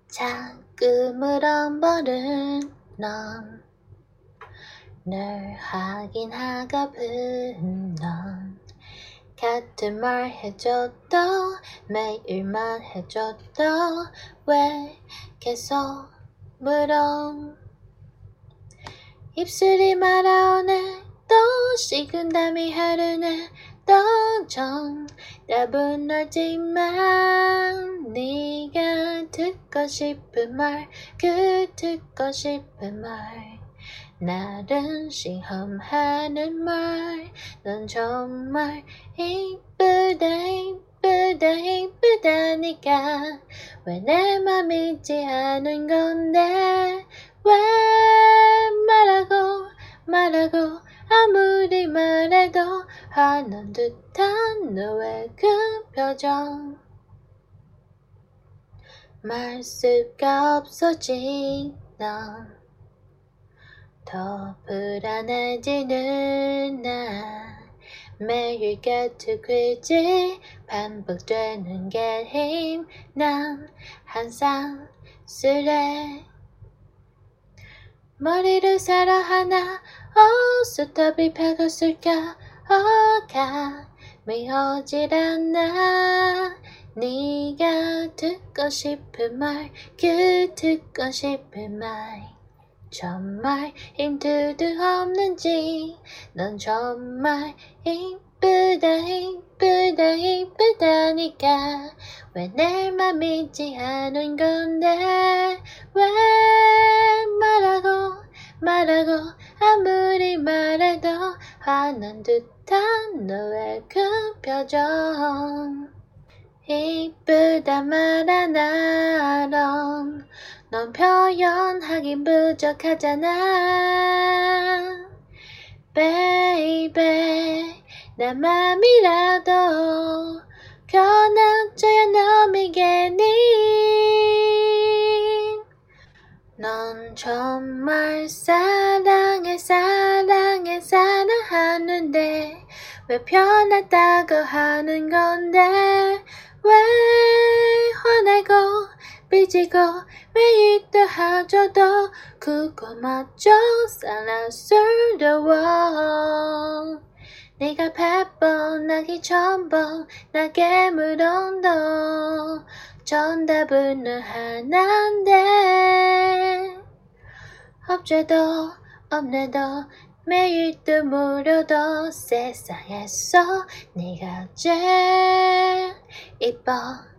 자꾸 물어보는 넌 늘 확인하고픈 넌 같은 말 해줘도 매일만 해줘도 왜 계속 물어 입술이 말아오네 또 식은땀이 흐르네 또 정답은 알지만 네가 듣고 싶은 말 그 듣고 싶은 말 나를 시험하는 말 넌 정말 이쁘다 이쁘다 이쁘다니까 왜 내 맘 믿지 않은 건데 왜 말하고 아무리 말해도 화난 듯한 너의 그 표정 말 수가 없어진 넌 더 불안해지는 나 매일 같은 퀴즈 반복되는 게임 난 항상 쓰레 머리를 새로 하나 수톱이 펴졌을까 감이 오질 않아 네가 듣고 싶은 말 그 듣고 싶은 말 정말 힌트도 없는지 넌 정말 이쁘다 이쁘다 이쁘다니까 왜 내 맘 믿지 않은 건데 왜 말하고 아무리 말해도 화난 듯한 너의 그 표정 이쁘다 말 하나로 넌 표현하긴 부족하잖아 Baby 내 맘이라도 꺼내줘야 너 믿겠니 넌 정말 사랑하는데 왜 편하다고 하는 건데 왜 화내고 삐지고 매일도 하줘도 그거마저 사랑스러워 네가 100번 나기 1000번 나게 물어도 정답은 하나인데 없죄도 없네도 매일 또 물어도 세상에서 네가 제일 이뻐